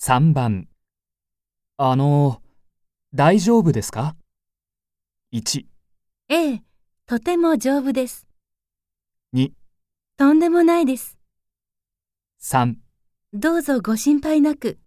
3番。大丈夫ですか？ 1、 ええ、とても丈夫です。 2、 とんでもないです。 3 どうぞご心配なく。